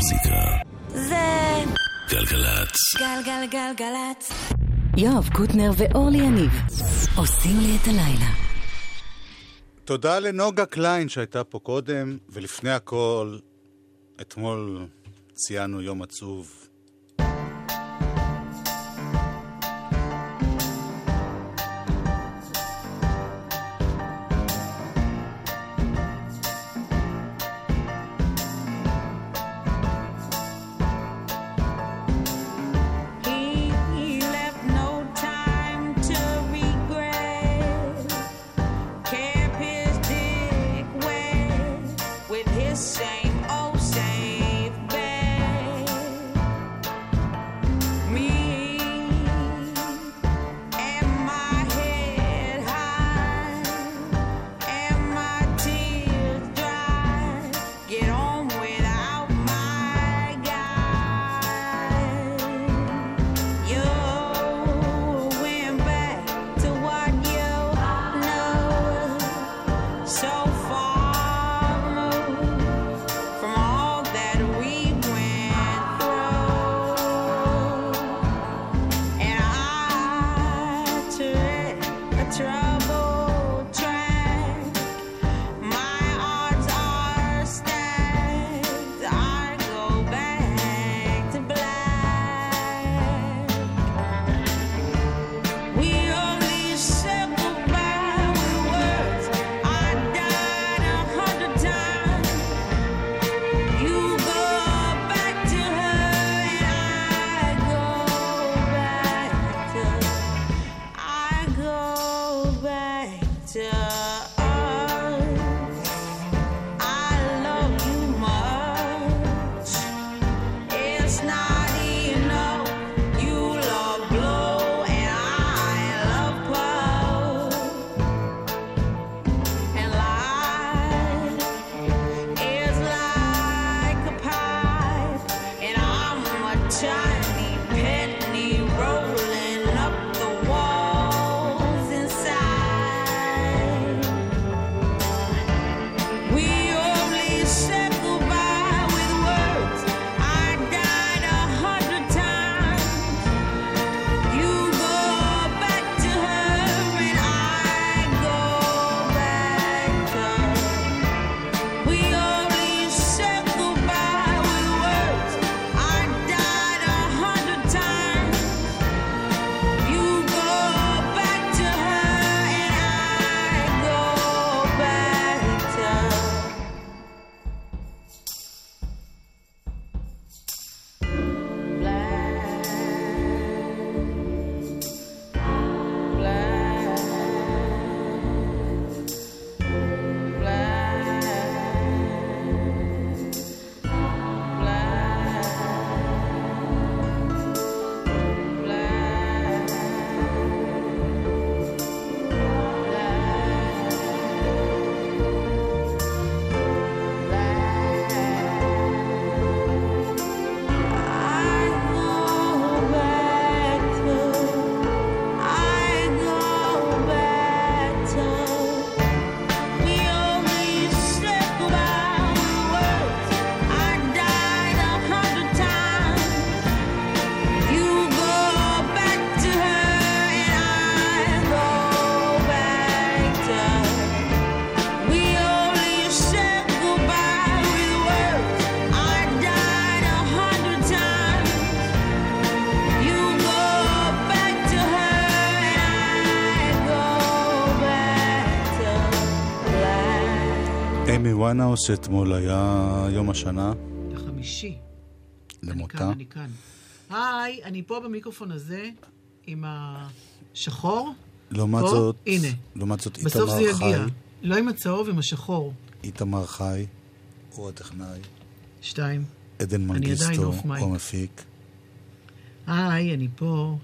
המוזיקה זה גלגלצ. גלגלגלגלצ. יואב קוטנר ואורלי יניב עושים לי את הלילה. תודה לנוגה קליין שהייתה פה קודם, ולפני הכל, אתמול ציינו יום עצוב. אמי ויינהאוס שאתמול היה יום השנה. החמישי. למותה. אני כאן. היי, אני פה במיקרופון הזה עם השחור. לעומת זאת, הנה. לעומת זאת בסוף זה איתמר יגיע. חי. לא עם הצהוב, עם השחור. איתמר חי, הוא הטכנאי. 2. עדן מנגיסטו, הוא המפיק. היי, אני פה.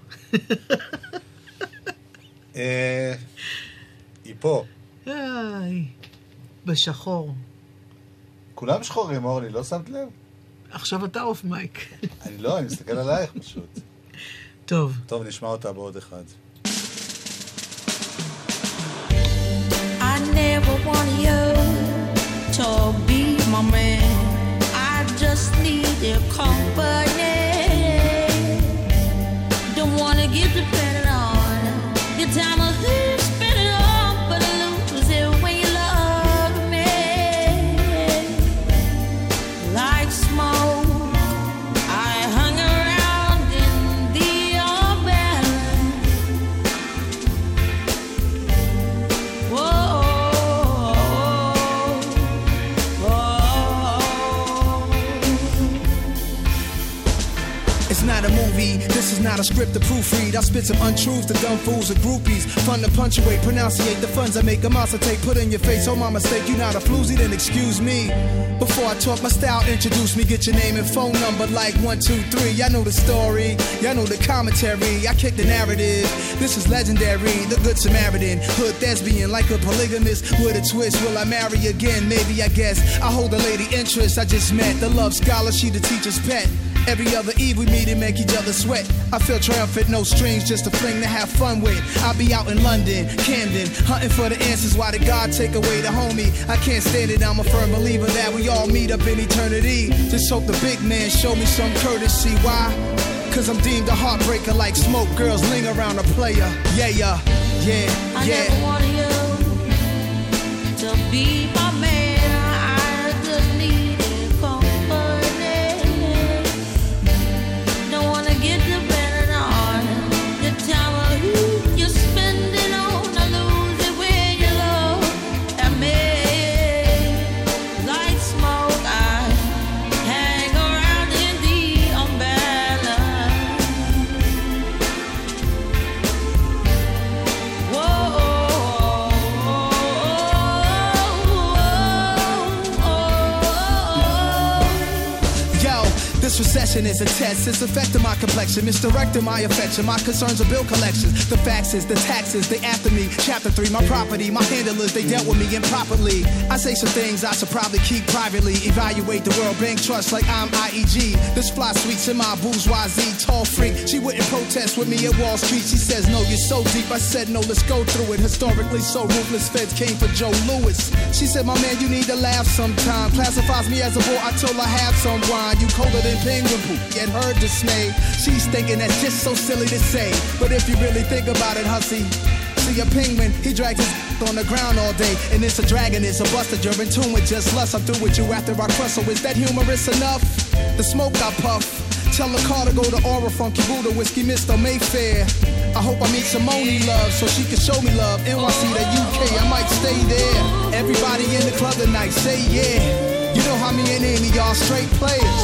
היא פה. היי. בשחור. כולם שחורים, אורלי, לא שמת לב? עכשיו אתה אוף מייק. אני מסתכל עלייך פשוט. טוב. טוב, נשמע אותה בעוד אחד. I never want you to be my man. I just need their company. Don't wanna get dependent on your time of who you spend it on, but I lose it when you love me. Like smoke, I hung around in the umbrella. Whoa. It's not a movie, this is not a script to proofread. I spit some untruths to dumb fools and groupies. Fun to punctuate, pronunciate the funds I make a monster take. Put in your face, oh my mistake, you not a floozy, then excuse me. Before I talk my style, introduce me, get your name and phone number like 1, 2, 3. Y'all know the story, y'all know the commentary. I kick the narrative, this is legendary. The good Samaritan, hood thespian, like a polygamist with a twist. Will I marry again? Maybe, I guess. I hold a lady interest I just met. The love scholar, she the teacher's pet. Every other eve we meet and make each other sweat. I feel triumphant, no strings, just a fling to have fun with. I'll be out in London, Camden, hunting for the answers. Why did God take away the homie? I can't stand it, I'm a firm believer that we all meet up in eternity. Just hope the big man show me some courtesy. Why? Cause I'm deemed a heartbreaker like smoke. Girls linger around a player. Yeah, yeah, yeah, I yeah. never wanted you to be my man. I just needed company. Don't wanna get dependent on the time of who you spend it on. I lose it when you look at me. Like smoke, I hang around in the umbrella. This recession is a test, it's affecting my complexion, misdirecting my affection. My concerns are bill collections, the faxes, the taxes, they after me. Chapter 3, my property, my handlers, they dealt with me improperly. I say some things I should probably keep privately. Evaluate the World Bank Trust like I'm IEG. This fly sweets in my bourgeoisie, tall freak. She wouldn't protest with me at Wall Street. She says, no, you're so deep. I said, no, let's go through it. Historically so ruthless, feds came for Joe Louis. She said, my man, you need to laugh sometime. Classifies me as a boy, I told her have some wine. You colder than penguin poop, yet her dismay. She's thinking that's just so silly to say, but if you really think about it, hussy, see a penguin, he drags his on the ground all day, and it's a dragon, it's a buster. You're in tune with just lust. I'm through with you after I crush. So is that humorous enough? The smoke I puff. Tell the car to go to Aura, Funky Buddha, Whiskey Mr. Mayfair. I hope I meet Simone Love so she can show me love. NYC to UK, I might stay there. Everybody in the club tonight, say yeah. You know how me and Amy, y'all straight players.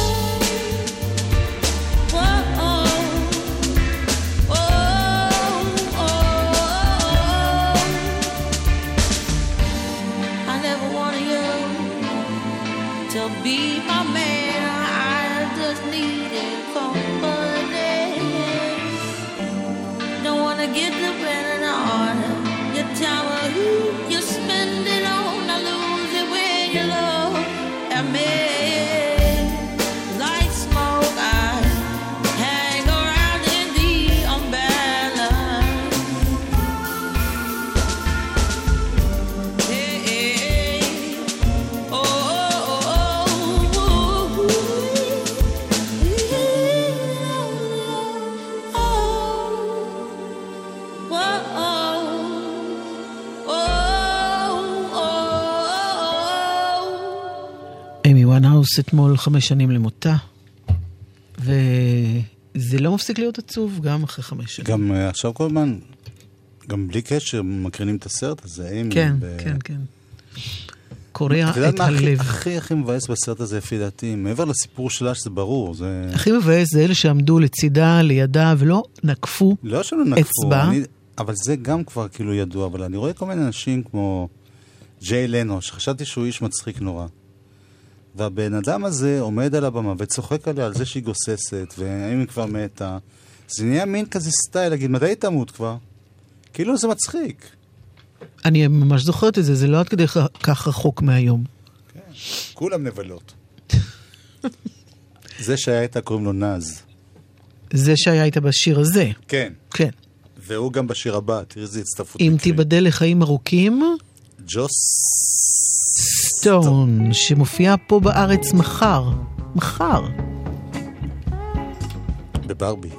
To be my man, I just needed company. Don't wanna get dependent on your time or who you spend it on. I lose it when you look at me. Like smoke, I hang around in the umbrella. Hey, hey, oh. אמי וויינהאוס אתמול 5 שנים למותה, וזה לא מפסיק להיות עצוב גם אחרי 5 שנים. גם עכשיו כל הזמן, גם בלי קשר, מקרינים את הסרט הזה, אמי. כן, כן, כן. קורע את הלב. הכי מבאס בסרט הזה, לפי דעתי, מעבר לסיפור שלה, שזה ברור. הכי מבאס זה אלה שעמדו לצידה, לידה, ולא נקפו אצבע. לא שלא נקפו, אבל זה גם כבר כאילו ידוע, אבל אני רואה כל מיני אנשים כמו ג'יי לנו, שחשבתי שהוא איש מצחיק נורא. והבן אדם הזה עומד על הבמה וצוחק עליה על זה שהיא גוססת, והאם היא כבר מתה. זה נהיה מין כזה סטייל, להגיד, מתי היא תמות כבר? כאילו זה מצחיק. אני ממש זוכרת את זה, זה לא עד כדי כך רחוק מהיום. כן, כולם נבלות. זה שהיה איתה קוראים לו נז. זה שהיה איתה בשיר הזה. כן. כן. והוא גם בשיר הבא, תראי איזה הצטרפות. אם תיבדל לחיים ארוכים, ג'וס סטון, שמופיע פה בארץ מחר. מחר. בברבי.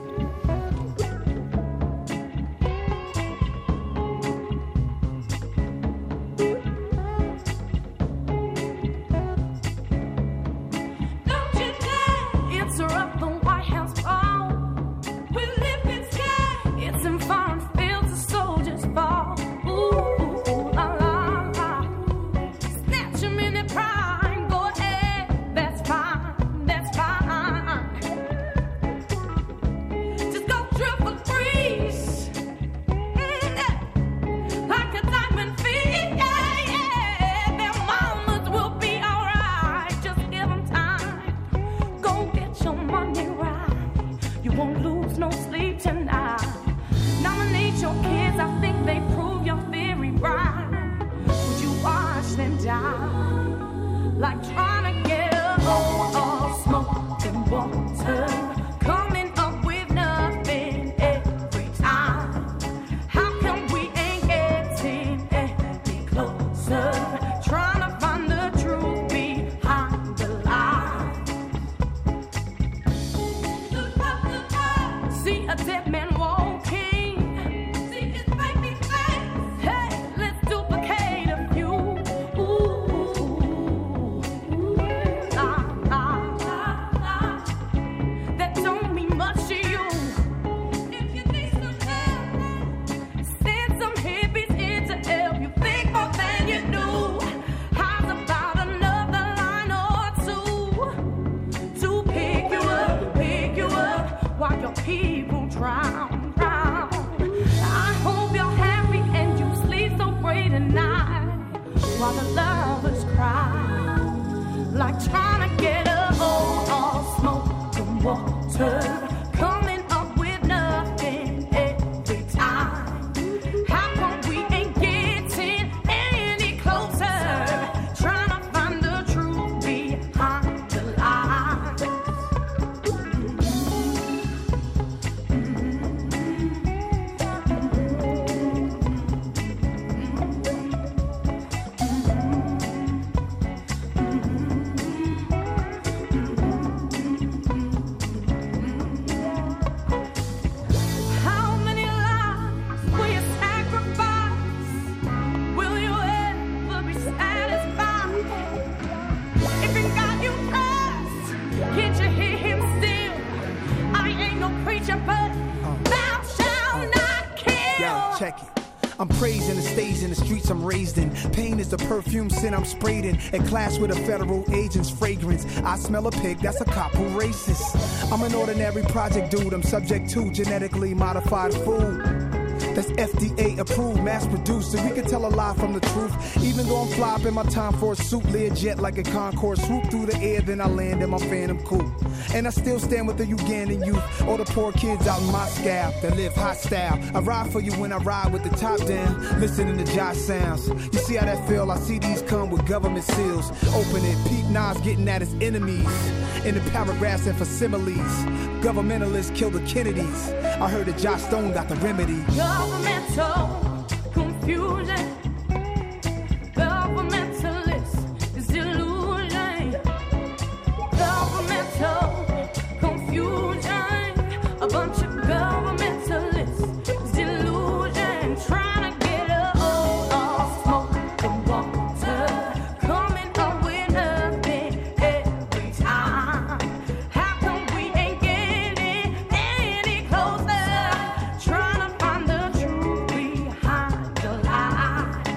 I'm praising the stage in the streets I'm raised in. Pain is the perfume scent I'm sprayed in. At class with a federal agent's fragrance. I smell a pig, that's a cop who racist. I'm an ordinary project dude. I'm subject to genetically modified food that's FDA approved, mass produced, so we can tell a lie from the truth. Even though I'm fly up in my Time Force suit, Learjet like a Concorde, swoop through the air, then I land in my Phantom coupe. And I still stand with the Ugandan youth, all the poor kids out in Moscow that live hostile. I ride for you when I ride with the top down, listening to Josh sounds. You see how that feel? I see these come with government seals. Open it, Pete Nas getting at his enemies. In the paragraphs and facsimiles, governmentalists kill the Kennedys. I heard that Josh Stone got the remedy. Governmental confusion, governmentalist is illusion. Governmental confusion, a bunch of governmentalists is illusion. Trying to get all smoke and water, coming up with nothing every time. How come we ain't getting any closer? Trying to find the truth behind the lie.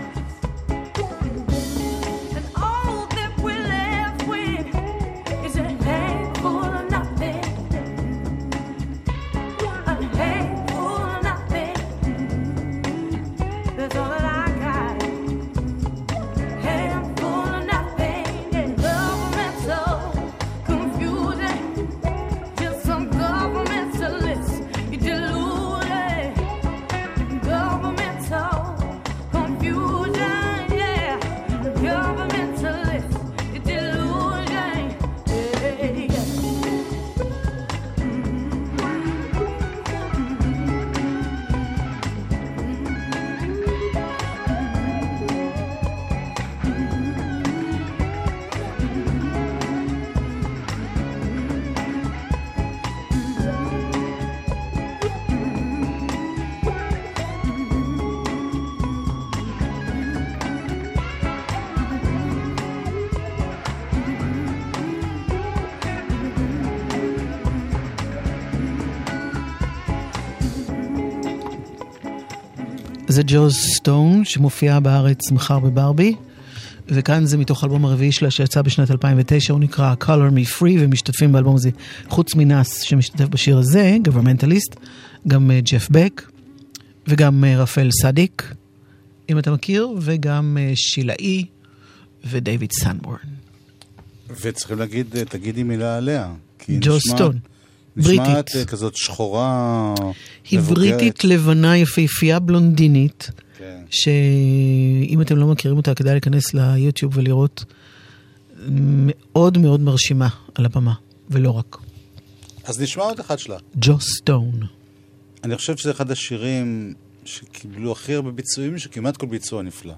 זה ג'וז סטון, שמופיע בארץ מחר בברבי, וכאן זה מתוך אלבום הרביעי שלה שיצא בשנת 2009, הוא נקרא Color Me Free, ומשתתפים באלבום הזה, חוץ מנס שמשתתף בשיר הזה, Governmentalist, גם ג'ף בק, וגם רפאל סדיק, אם אתה מכיר, וגם שילאי, ודייוויד סנבורן. וצריכים להגיד, תגידי מילה עליה. ג'וז סטון. נשמעת כזאת שחורה, היא בריטית לבנה יפהפייה בלונדינית, שאם אתם לא מכירים אותה, כדאי להיכנס ליוטיוב ולראות, מאוד מאוד מרשימה על הבמה, ולא רק. אז נשמע עוד אחד שלה. ג'וז סטון. אני חושב שזה אחד השירים שקיבלו הכי הרבה ביצועים, שכמעט כל ביצוע נפלא.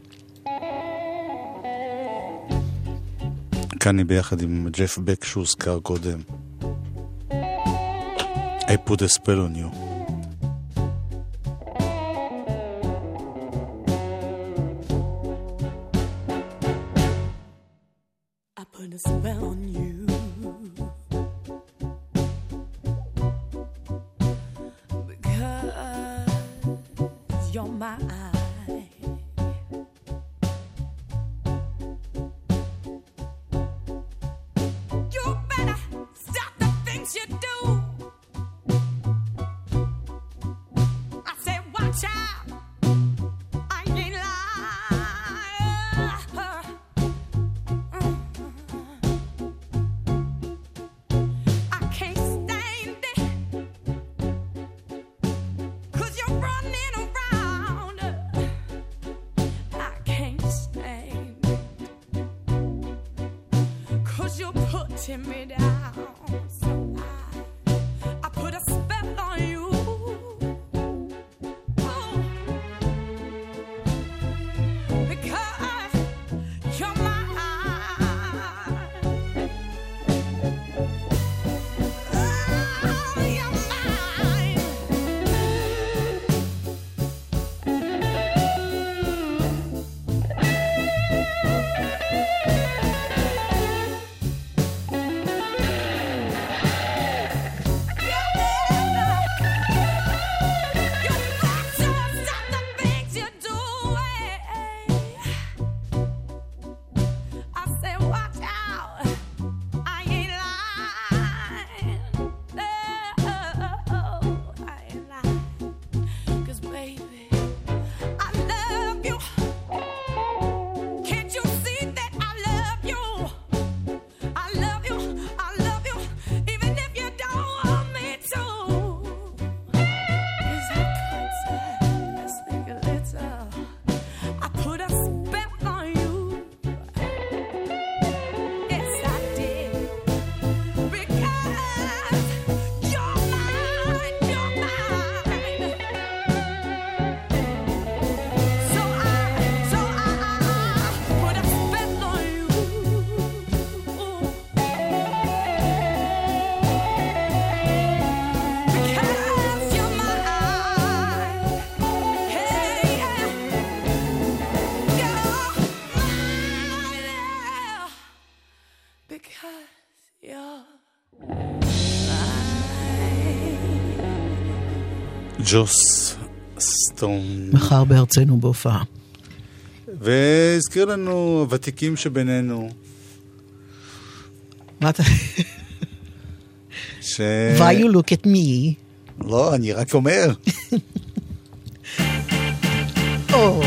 כאן היא ביחד עם ג'ף בק שהוזכר קודם. I put a spell on you. I put a spell on you. Because you're mine. You better stop the things you do. Watch out, I ain't lying. I can't stand it, 'cause you're running around. I can't stand it, 'cause you're putting me down. So I put a spell on you. ג'וס סטון. מחר בארצנו בהופעה. והזכיר לנו ותיקים שבינינו. מה אתה... Why you look at me? לא, אני רק אומר. Oh.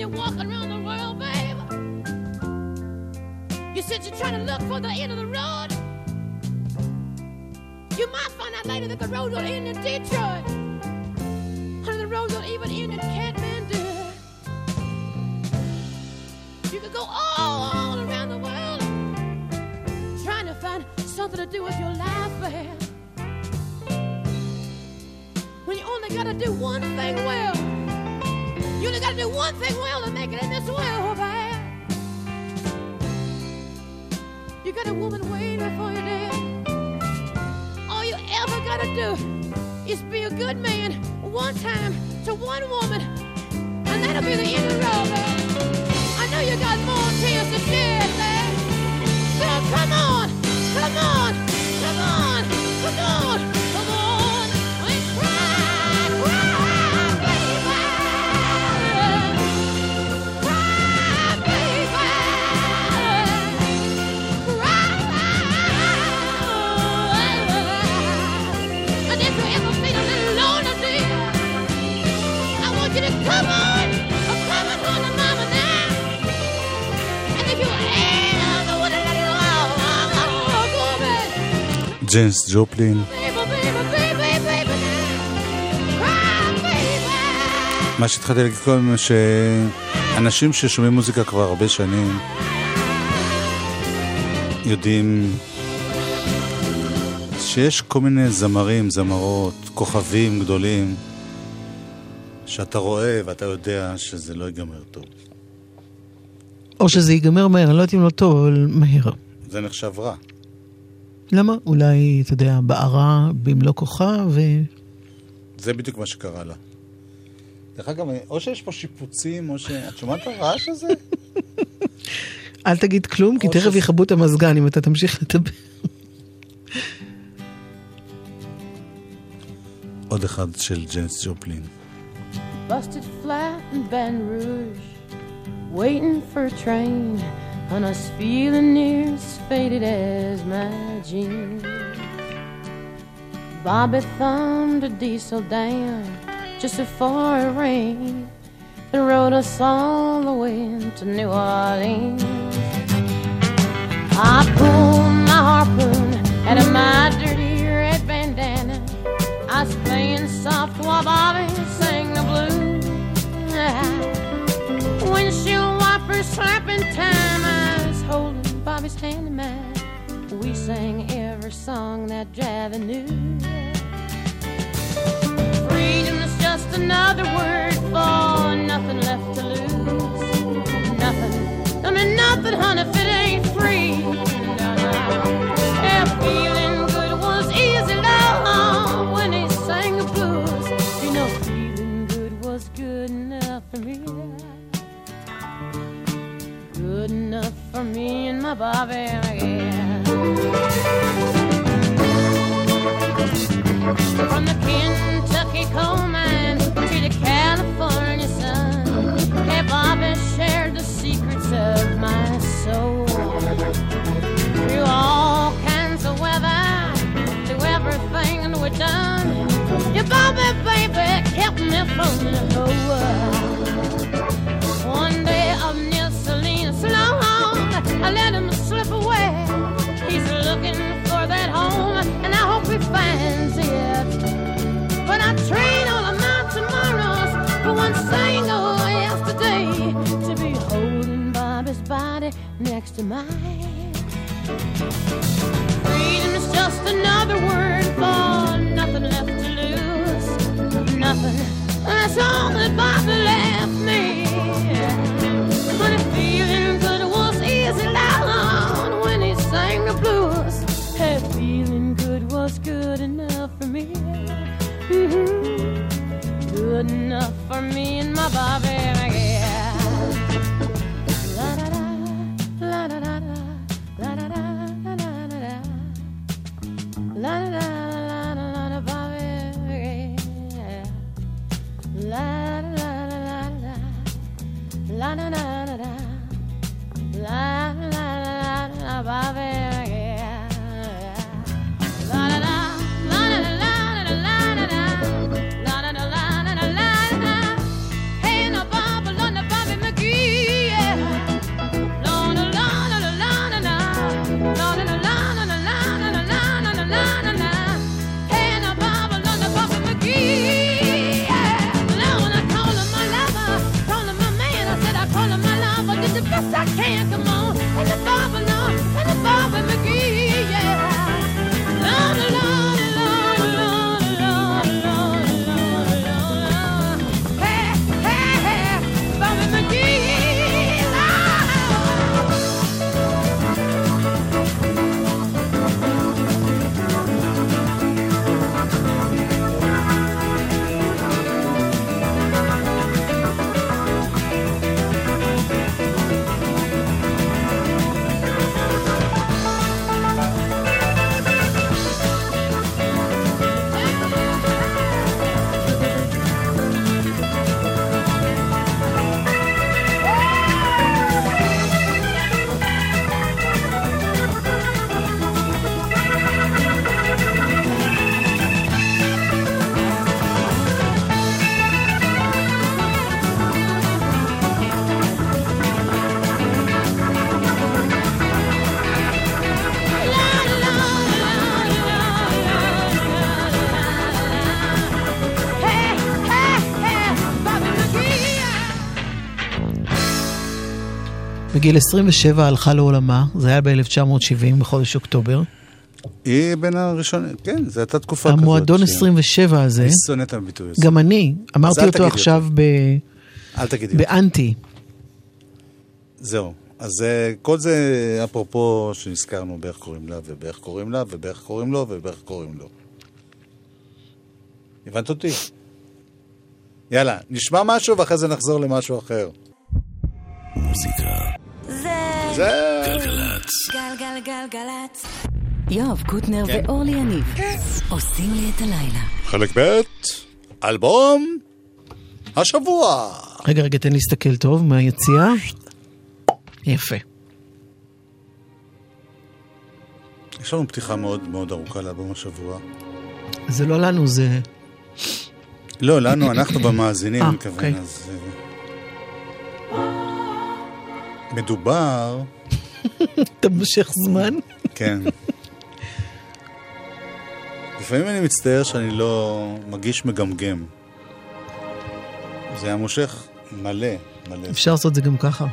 you're walking around the world, babe, you said you're trying to look for the end of the road. You might find out later that the road will end in Detroit. Honey, the road will even end in Kathmandu. You could go all around the world trying to find something to do with your life, babe. When you only gotta do one thing well. You only gotta do one thing well to make it in this world, babe. You got a woman waiting for you there. All you ever gotta do is be a good man one time to one woman, and that'll be the end of the road, babe. I know you got more tears to shed, babe. So come on, come on, come on, come on, come on, and cry, cry, baby. Cry, baby. Cry. And if you ever feel a little lonely, dear, I want you to come on home to mama now. And if you ever want to let it go, baby. ג'ניס ג'ופלין. מה שהתחלתי להגיד קודם, שאנשים ששומעים מוזיקה כבר הרבה שנים יודעים שיש כל מיני זמרים, זמרות, כוכבים גדולים שאתה רואה ואתה יודע שזה לא ייגמר טוב. או שזה ייגמר מהר, אני לא יודעת אם לא טוב, אבל מהר. זה נחשב רע. למה? אולי, אתה יודע, בערה במלוא כוחה זה בדיוק מה שקרה לה. דרך אגב, או שיש פה שיפוצים, או את שומעת את הרעש הזה? אל תגיד כלום, כי תכף יחבו את המזגן אם אתה תמשיך לדבר. עוד אחד של ג'ניס ג'ופלין. Busted flat in Baton Rouge, waiting for a train, and I was feeling near as faded as my jeans. Bobby thumbed a diesel down just before it rained and rode us all the way to New Orleans. I pulled my harpoon out of my dirty red bandana. I was playing soft while Bobby sang the blues. Windshield wipers slapping time, I was holding Bobby's hand in mine. We sang every song that Javi knew. Freedom is just another word for nothing left to lose. Nothing, I mean nothing, honey, if it ain't free. No, no. Yeah, feeling good was easy, love, when he sang the blues. You know, feeling good was good enough for me. Good enough for me and my Bobby, yeah. From the Kentucky coal mine to the California sun, hey, Bobby shared the secrets of my soul. Through all kinds of weather, through everything we've done, your Bobby, baby, kept me from the whole world. One day up near Salinas Long, I let him slip away. He's looking for that home, and I hope he finds it. But I train all of my tomorrows for one single yesterday to be holding Bobby's body next to mine. Freedom is just another word for nothing left to lose. Nothing, that's all that Bobby left me. But feeling good was easy loud when he sang the blues. Hey, feeling good was good enough for me. Good enough for me and my Bobby, yeah. La da da, la da da da, la da da da da da, la da da la da Bobby, yeah. La da da la da, la da da da, la da da Bobby, yeah. La da da. Hey, no Bobby, Bobby McGee. the best I can, come on. And the Barbara, Lord, and the Barbara McGee, yeah. Lord, Lord, Lord, Lord, Lord, Lord, Lord, Lord. Hey, hey, hey, Barbara McGee, בגיל 27 הלכה לעולמה, זה היה ב-1970 בחודש אוקטובר. היא בין הראשונים, כן, זו הייתה תקופה כזאת. המועדון 27 הזה, היא שונאת הביטוי הזה. גם אני, אמרתי אותו עכשיו אל תגידי באנטי. זהו, אז כל זה אפרופו שנזכרנו באיך קוראים לה, ובאיך קוראים לה, ובאיך קוראים לו, ובאיך קוראים לו. הבנת אותי? יאללה, נשמע משהו ואחרי זה נחזור למשהו אחר. מוזיקה זה גלגלצ. גלגלגלגלצ. יואב קוטנר ואורלי יניב עושים לי את הלילה. חלק ב' אלבום השבוע. רגע, תן להסתכל טוב מהיציאה. יפה. יש לנו פתיחה מאוד מאוד ארוכה לאלבום השבוע. זה לא לנו, זה... לא, לנו, אנחנו במאזינים, אני מכוון, אוקיי. אז... מדובר... אתה מושך זמן? כן. לפעמים אני מצטער שאני לא מגיש מגמגם. זה היה מושך מלא. אפשר לעשות את זה גם ככה.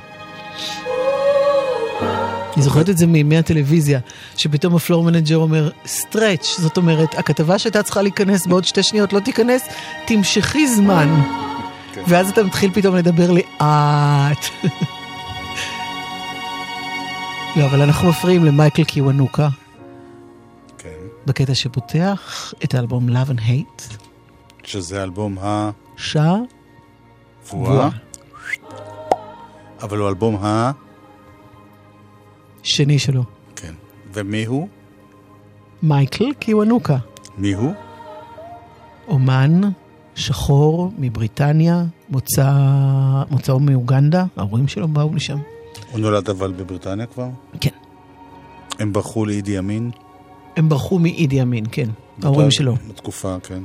אני זוכרת את זה מימי הטלוויזיה, שפתאום הפלור מנג'ר אומר, סטרץ', זאת אומרת, הכתבה שהייתה צריכה להיכנס בעוד 2 שניות לא תיכנס, תמשכי זמן. ואז אתה מתחיל פתאום לדבר לי, לא, אבל אנחנו מפריעים למייקל קיוונוקה. כן. בקטע שפותח את האלבום Love and Hate. שזה אלבום שבוע. אבל הוא אלבום שני שלו. כן. ומי הוא? מייקל קיוונוקה. מי הוא? אומן שחור מבריטניה, מוצאו מאוגנדה, ההורים שלו באו לשם. הוא נולד אבל בבריטניה כבר? כן. הם ברחו לאידי אמין? הם ברחו מאידי אמין, כן. ההורים שלו. בתקופה, כן.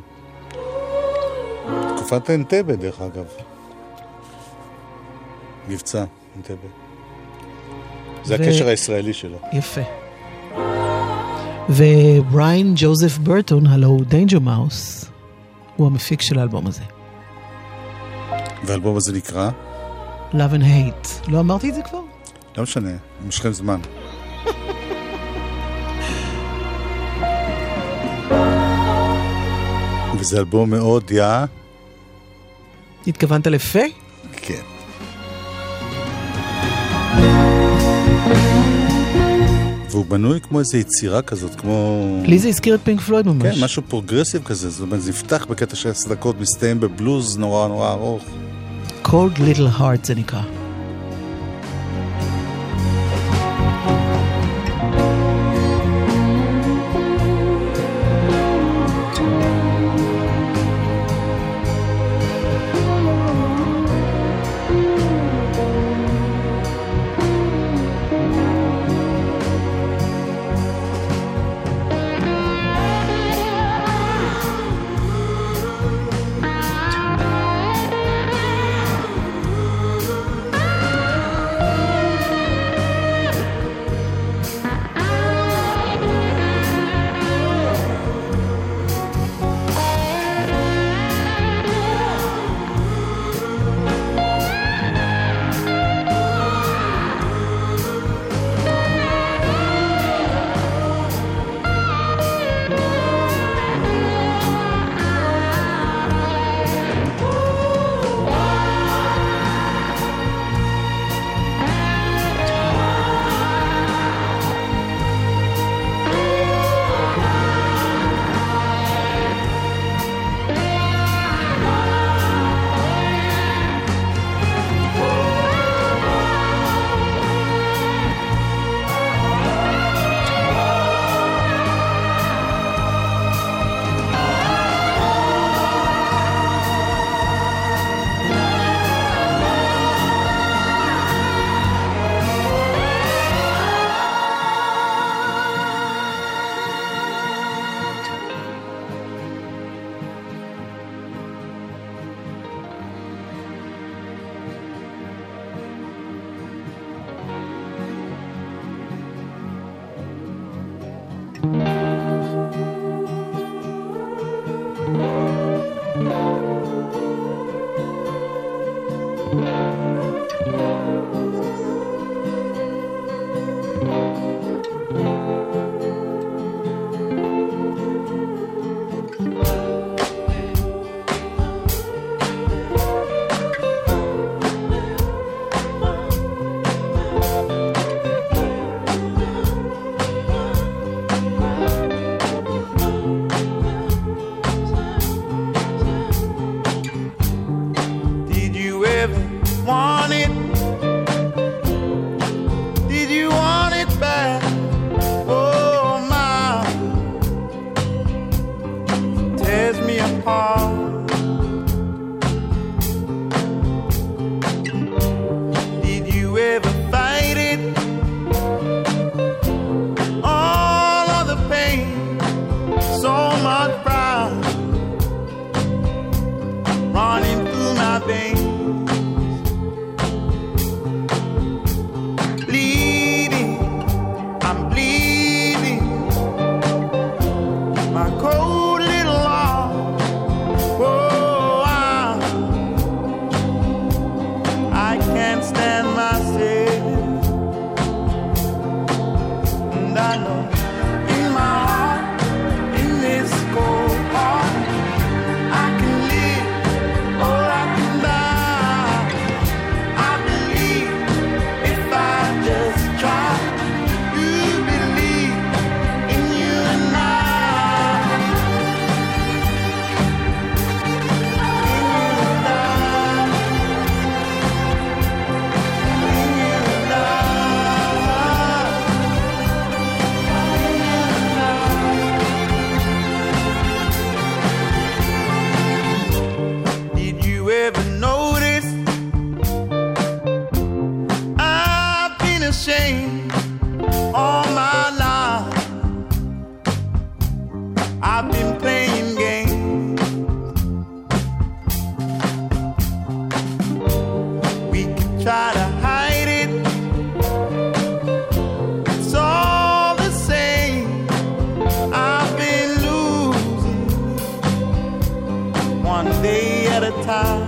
תקופת אנטבה, דרך אגב. מבצע אנטבה. זה הקשר הישראלי שלו. יפה. ובריין ג'וזף ברטון, הלו דיינג'ר מאוס, הוא המפיק של האלבום הזה. והאלבום הזה נקרא? Love and Hate. לא אמרתי את זה כבר? לא משנה, משכם זמן. וזה אלבום מאוד התכוונת לפה? כן. והוא בנוי כמו איזו יצירה כזאת, כמו... לי זה הזכיר את פינק פלויד ממש. כן, משהו פרוגרסיב כזה, זאת אומרת, זה יפתח בקטע של 10 דקות, מסתיים בבלוז נורא נורא ארוך. Cold Little Heart זה נקרא. ashamed all my life. I've been playing games. We could try to hide it. It's all the same. I've been losing one day at a time.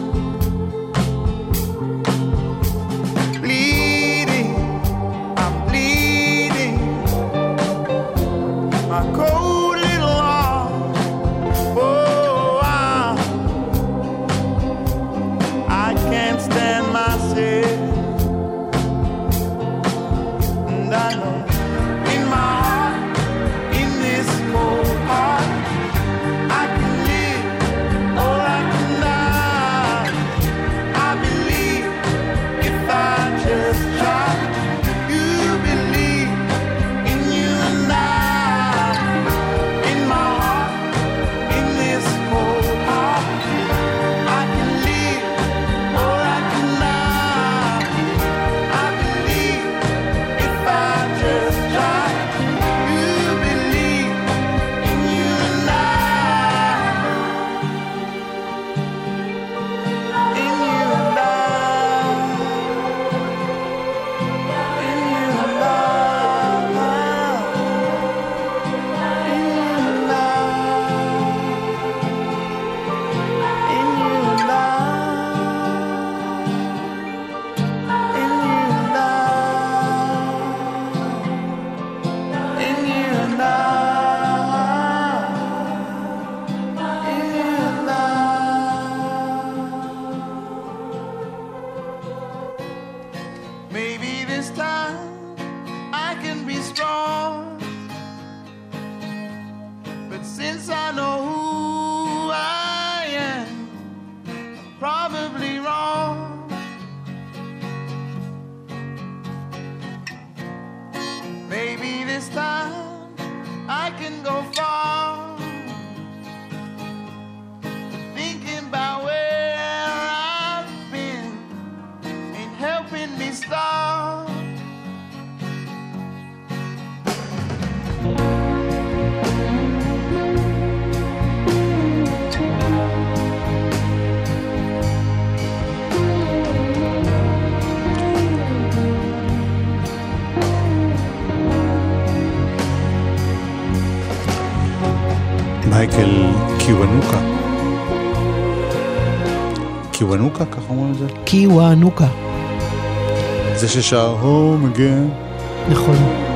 Cold little arms, oh, I can't stand myself, and I know in my heart, in this cold heart, I can live or I can die. I believe if I just try. You believe in you and I. Maybe this time I can be strong, but since I know who I am, I'm probably wrong. Maybe this time I can go far, thinking about where I've been ain't helping me start. מייקל קיוונוקה. קיוונוקה, ככה אומרים את זה? קיוונוקה. זה ששר home again. נכון.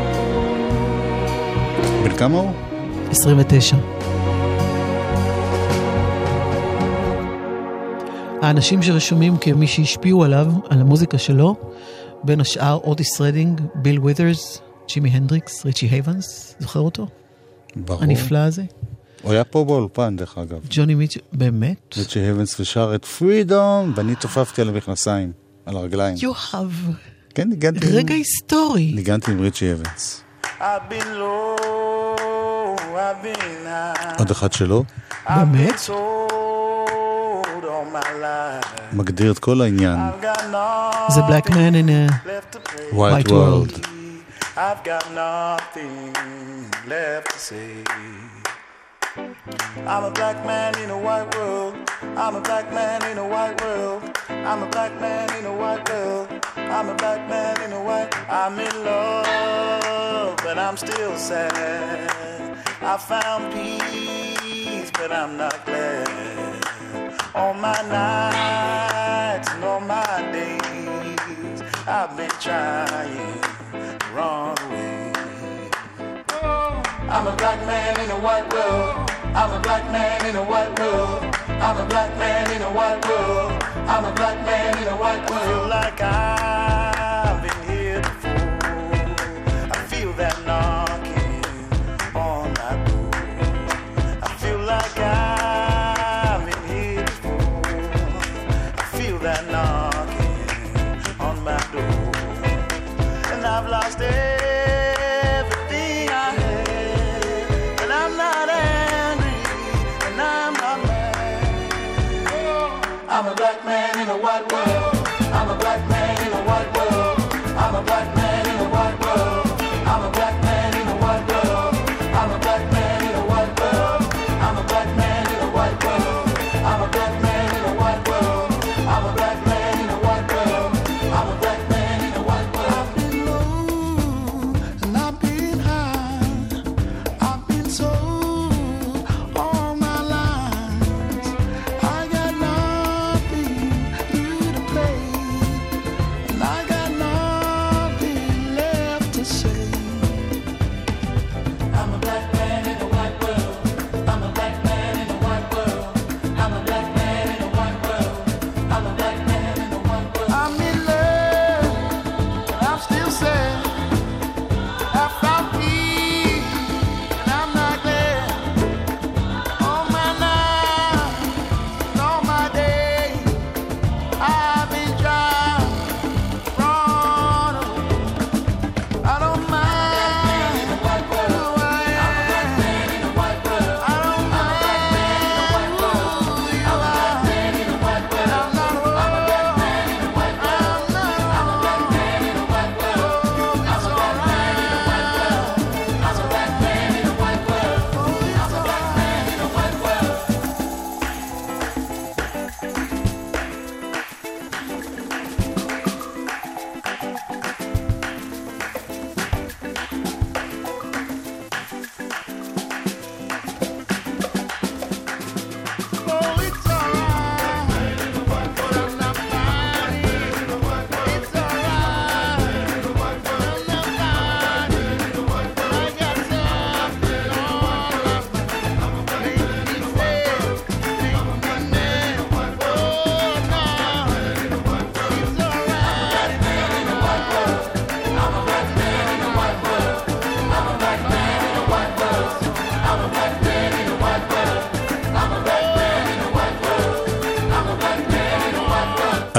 בן כמה הוא? 29. האנשים שרשומים כמי שהשפיעו עליו, על המוזיקה שלו, בין השאר אוטיס רדינג, ביל ווית'רס, ג'ימי הנדריקס, ריצ'י הייבנס, זוכר אותו? ברור. הנפלא הזה. הוא היה פה באולפן, דרך אגב. ג'וני מיטשל, באמת? ריצ'י הייבנס ושר את פרידום, ואני תופפתי על המכנסיים, על הרגליים. יוחב. כן, ניגנתי. רגע היסטורי. ניגנתי עם ריצ'י הייבנס. עוד אחד שלו. באמת? מגדיר את כל העניין. זה Black Man in a White World. I've got nothing left to say. I'm a black man in a white world. I'm a black man in a white world. I'm a black man in a white world. I'm a black man in a white. I'm in love, but I'm still sad. I found peace, but I'm not glad. All my nights and all my days, I've been trying to run away. I'm a black man in a white world. I'm a black man in a white world. I'm a black man in a white world. I'm a black man in a white world. I feel like I've been here before. I feel that knocking on my door. I feel like I've been here before. I feel that knocking on my door. And I've lost everything I had. And I'm not angry, and I'm not mad. I'm a black man in a white world. I'm a black man in a white world. I'm a black man.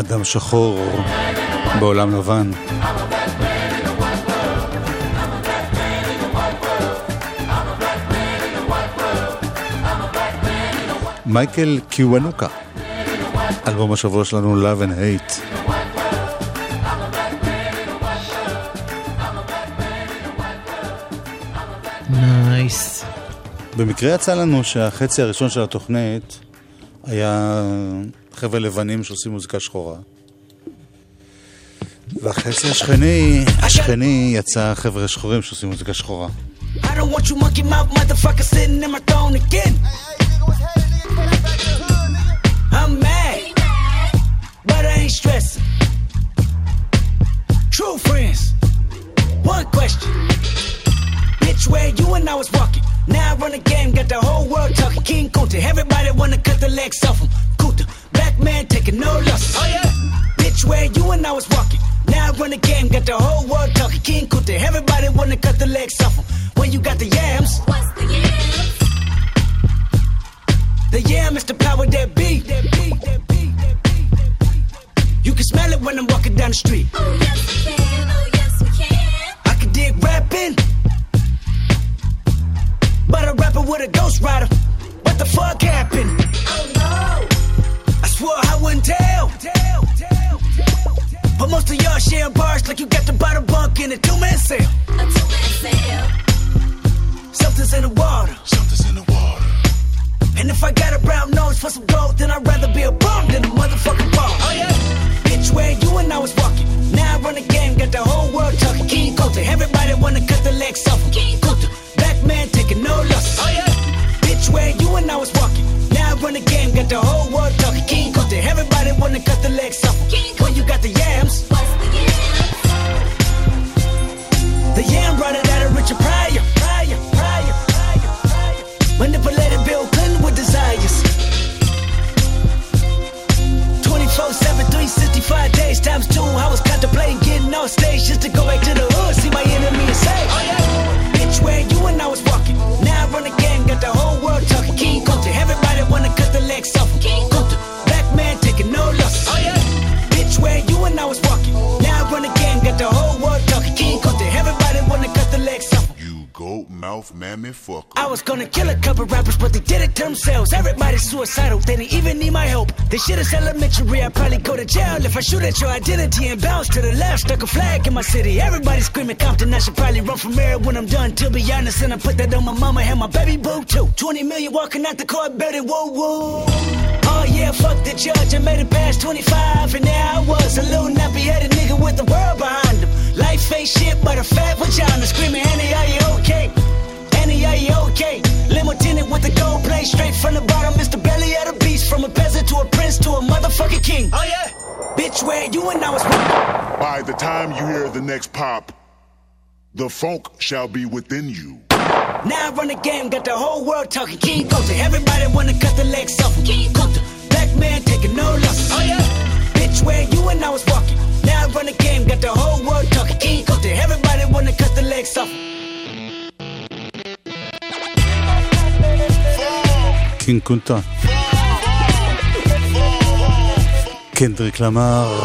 אדם שחור בעולם לבן. מייקל קיוונוקה, אלבום השבוע שלנו Love and Hate. נייס. במקרה יצא לנו שהחצי הראשון של התוכנית היה חבר'ה לבנים שעושים מוזיקה שחורה, והחצי השכני יצא חבר'ה שחורים שעושים מוזיקה שחורה. I don't want you monkey mouth motherfucker sitting in my throne again. I'm mad, but I ain't stressing. True friends, one question. Bitch, where you and I was walking. Now I run a game, got the whole world talking. King Kunta, everybody wanna cut the legs off him. Kunta, black man taking no losses. Oh yeah. Bitch, where you and I was walking. Now I run a game, got the whole world talking. King Kunta, everybody wanna cut the legs off him. When you got the yams. What's the yams? The yam is the power that be. You can smell it when I'm walking down the street. Oh yes we can, oh yes we can. I can dig rapping, but a rapper with a ghost rider. What the fuck happened? Oh no. I swore I wouldn't tell. But most of y'all share bars like you got the bottom bunk in a two-man sale. A two-man sale. Something's in the water. Something's in the water. And if I got a brown nose for some gold, then I'd rather be a bum than a motherfucking ball. Oh yeah. Bitch, where you and I was walking. Now I run the game, got the whole world talking. King Kunta, everybody wanna cut the legs off him. King Kunta, black man taking no losses. Oh yeah. Bitch, where you and I was walking. Now I run the game, got the whole world talking. King Kunta, everybody wanna cut the legs off him. King When you got the yams. What's the yams? The yam brought it out of Richard Pryor. Manipulated Bill Clinton with desires. 24/7, 365 days times 2. I was contemplating getting on stage just to go back to the hood, see my enemy and say, oh yeah. Bitch, where you and I was walking. Now I run the game, got the whole world talking. King Kunta, everybody wanna cut the legs off him. King Kunta, black man taking no losses. Oh yeah. Bitch, where you and I was walking. Now I run the game, got the whole world talking. King Kunta, everybody wanna cut the legs off him. Goat mouth mammy fucker. I was gonna kill a couple rappers, but they did it to themselves. Everybody's suicidal, they didn't even need my help. This shit is elementary, I'd probably go to jail if I shoot at your identity and bounce to the left. Stuck a flag in my city, everybody screaming Compton. I should probably run from here when I'm done, to be honest. And I put that on my mama and my baby boo too. 20 million walking out the court, better whoa whoa. Oh yeah, fuck the judge, I made it past 25, and now I was a little nappy-headed nigga with the world behind him. Life ain't shit but a fat vagina, screaming, Annie, are you okay? Annie, are you okay? Limo tinted with the gold plate, straight from the bottom, Mr. Belly of the beast. From a peasant to a prince to a motherfucking king. Oh yeah. Bitch, where you and I was. By the time you hear the next pop, the funk shall be within you. Now I run the game, got the whole world talking. King Kunta, everybody wanna cut the legs off him. King Kunta, black man taking no losses. Oh yeah. Bitch, where you and I was walking. Now I run the game, got the whole world talking. King Kunta, everybody wanna cut the legs off him. קינג קונטה, קנדריק למר.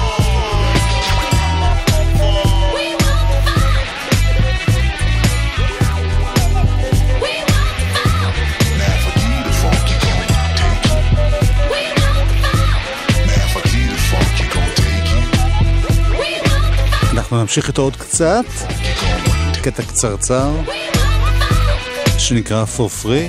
אנחנו נמשיך איתו עוד קצת, קטע קצרצר שנקרא For Free.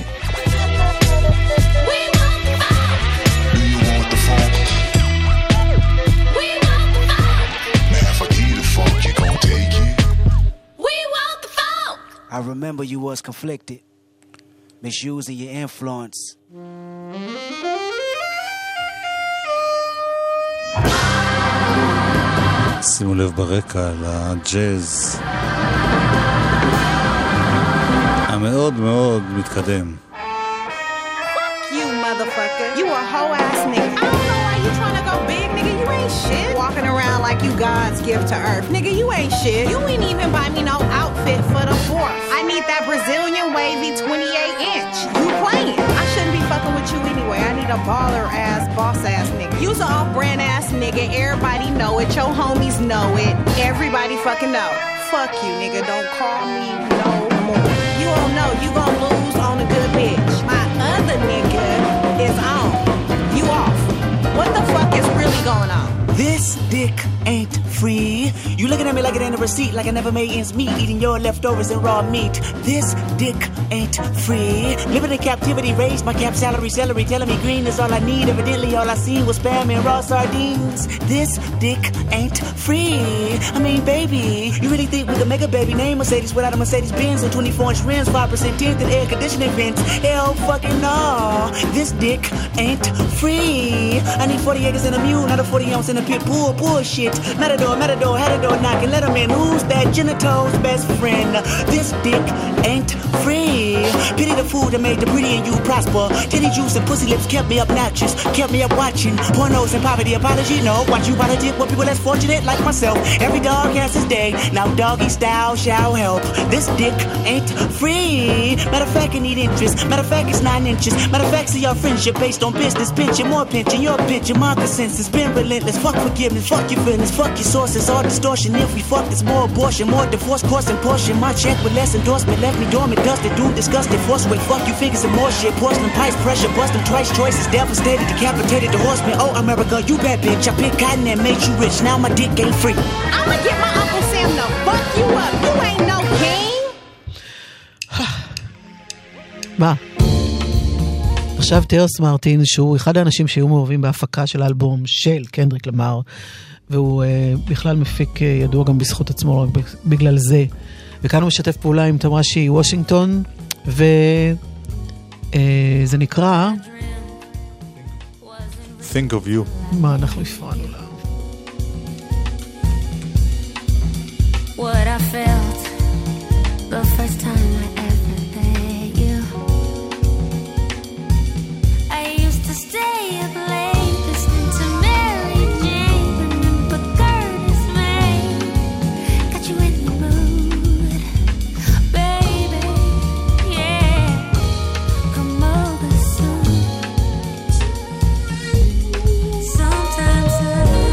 I remember you was conflicted, misusing your influence. שימו לב ברקע לג'אז המאוד מאוד מתקדם. Fuck you, motherfucker. You a hoe ass nigga. I don't know why you trying to go big, nigga? You ain't shit. Walking around like you God's gift to earth. Nigga, you ain't shit. You ain't even buy me no outfit for the 4th. I need that Brazilian wavy 28-inch. You playing. I shouldn't be fucking with you anyway. I need a baller ass, boss ass nigga. You's an off-brand ass nigga. Everybody know it. Your homies know it. Everybody fucking know. Fuck you, nigga. Don't call me no more. You don't know. You gon' lose on a good bitch. My other nigga is on. You off. What the fuck is really going on? This dick ain't free. You looking at me like it ain't a receipt, like I never made ends meet, eating your leftovers and raw meat. This dick ain't free. Living in captivity, raised my cap salary, celery, telling me green is all I need. Evidently all I seen was spam and raw sardines. This dick ain't free. I mean, baby, you really think we could make a baby name Mercedes without a Mercedes Benz and 24-inch rims, 5% tint and air conditioning vents? Hell fucking no. This dick ain't free. I need 40 acres and a mule, not a 40 ounce in a pit bull. Bullshit. Matador, had a door knocking. Let him in. Who's that genito's best friend? This dick ain't free. Pity the food that made the pretty and you prosper. Titty juice and pussy lips kept me obnoxious. Kept me up watching pornos and poverty. Apology, no. Watch you politic with people less fortunate like myself. Every dog has his day. Now doggy style shall help. This dick ain't free. Matter of fact, I need interest. Matter of fact, it's 9 inches. Matter of fact, see your friendship based on business. Pension, more pension, your pension. My consensus been relentless. Fuck forgiveness, fuck your feelings, fuck your sources. All distortion. If we fuck, there's more abortion, more divorce, course and portion. My check with less endorsement left me dormant, dusted, doomed, disgusted, force weight. Fuck you, figures and more shit. Porcelain pipes, pressure, bust them twice. Choices devastated, decapitated the horseman. Oh, America, you bad bitch. I picked cotton and made you rich. Now my dick ain't free. I'ma get my Uncle Sam to fuck you up. You ain't no king. מה? עכשיו טרס מרטין, שהוא אחד האנשים שהיו מעורבים בהפקה של האלבום של קנדריק למר, והוא בכלל מפיק ידוע גם בזכות עצמו, רק בגלל זה. וכאן הוא משתף פעולה עם תמרשי וושינגטון, וזה נקרא Think of You. מה אנחנו הפרענו לה? What I felt the first time I ever met you. I used to stay up late listening to Mary Jane, remember Curtis May. Got you in the mood, baby, yeah. Come over soon. Sometimes I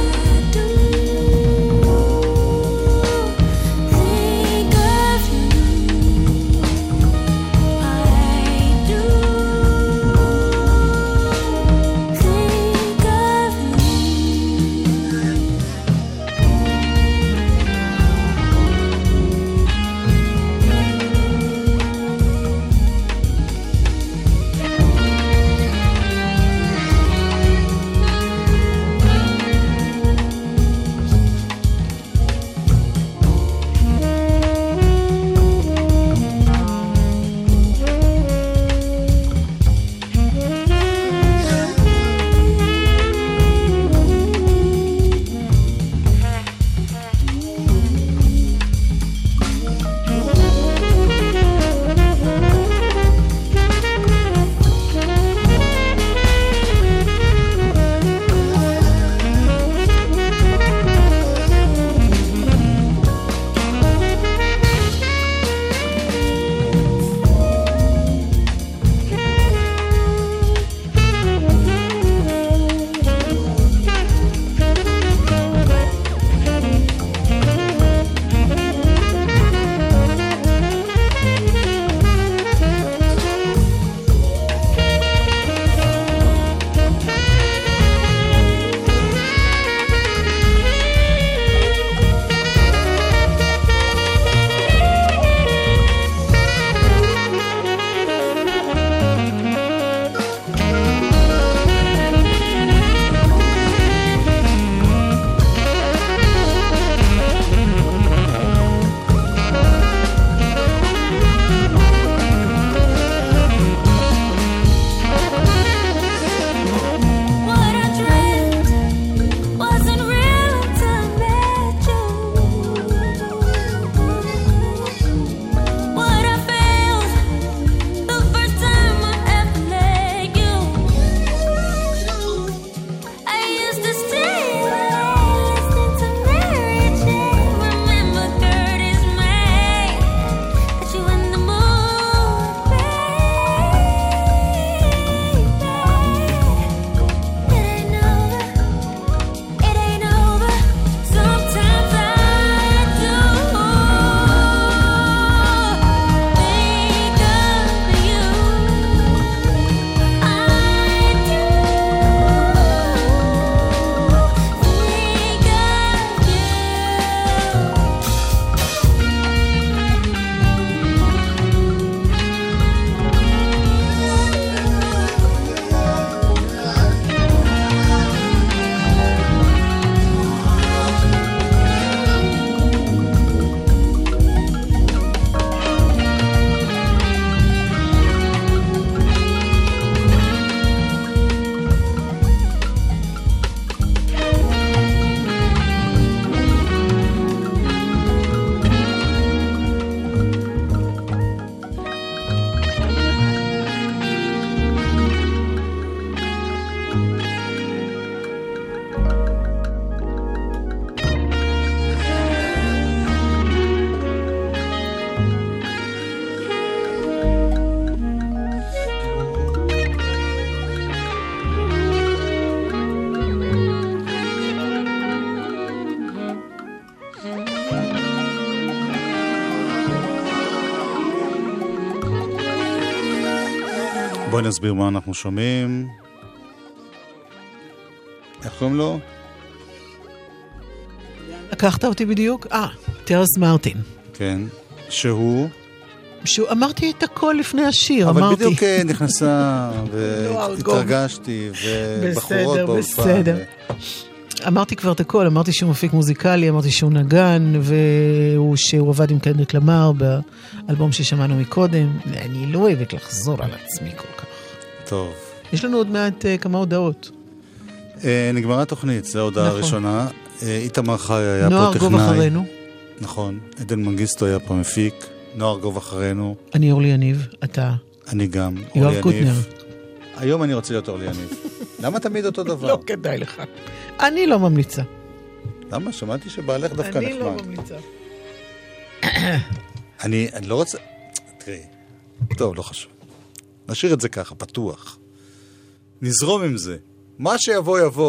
בואי נסביר מה אנחנו שומעים. איך קוראים לו? לקחת אותי בדיוק? טרס מרטין. כן. שהוא? אמרתי את הכל לפני השיר, אבל אמרתי. בדיוק נכנסה והתרגשתי ובחורות באולפן. בסדר. אמרתי כבר את הכל, אמרתי שהוא מפיק מוזיקלי, אמרתי שהוא נגן, שהוא עבד עם קנדריק למר באלבום ששמענו מקודם. אני לא אוהבת לחזור על עצמי כל כך. טוב. יש לנו עוד מעט כמה הודעות. נגמרה התוכנית, זו ההודעה הראשונה. איתמר חי היה פה טכנאי. נוער גוב אחרינו. נכון. עדן מנגיסטו היה פה מפיק. נוער גוב אחרינו. אני אורלי יניב, אתה. אני גם. יואב קוטנר. היום אני רוצה להיות אורלי יניב. למה תמיד אותו דבר? לא כדאי לך. אני לא ממליצה. למה? שמעתי שבעלך דווקא נחמד. אני לא ממליצה. אני לא רוצה... תראי. טוב, לא חשוב. נשאיר את זה ככה, פתוח. נזרום עם זה. מה שיבוא יבוא.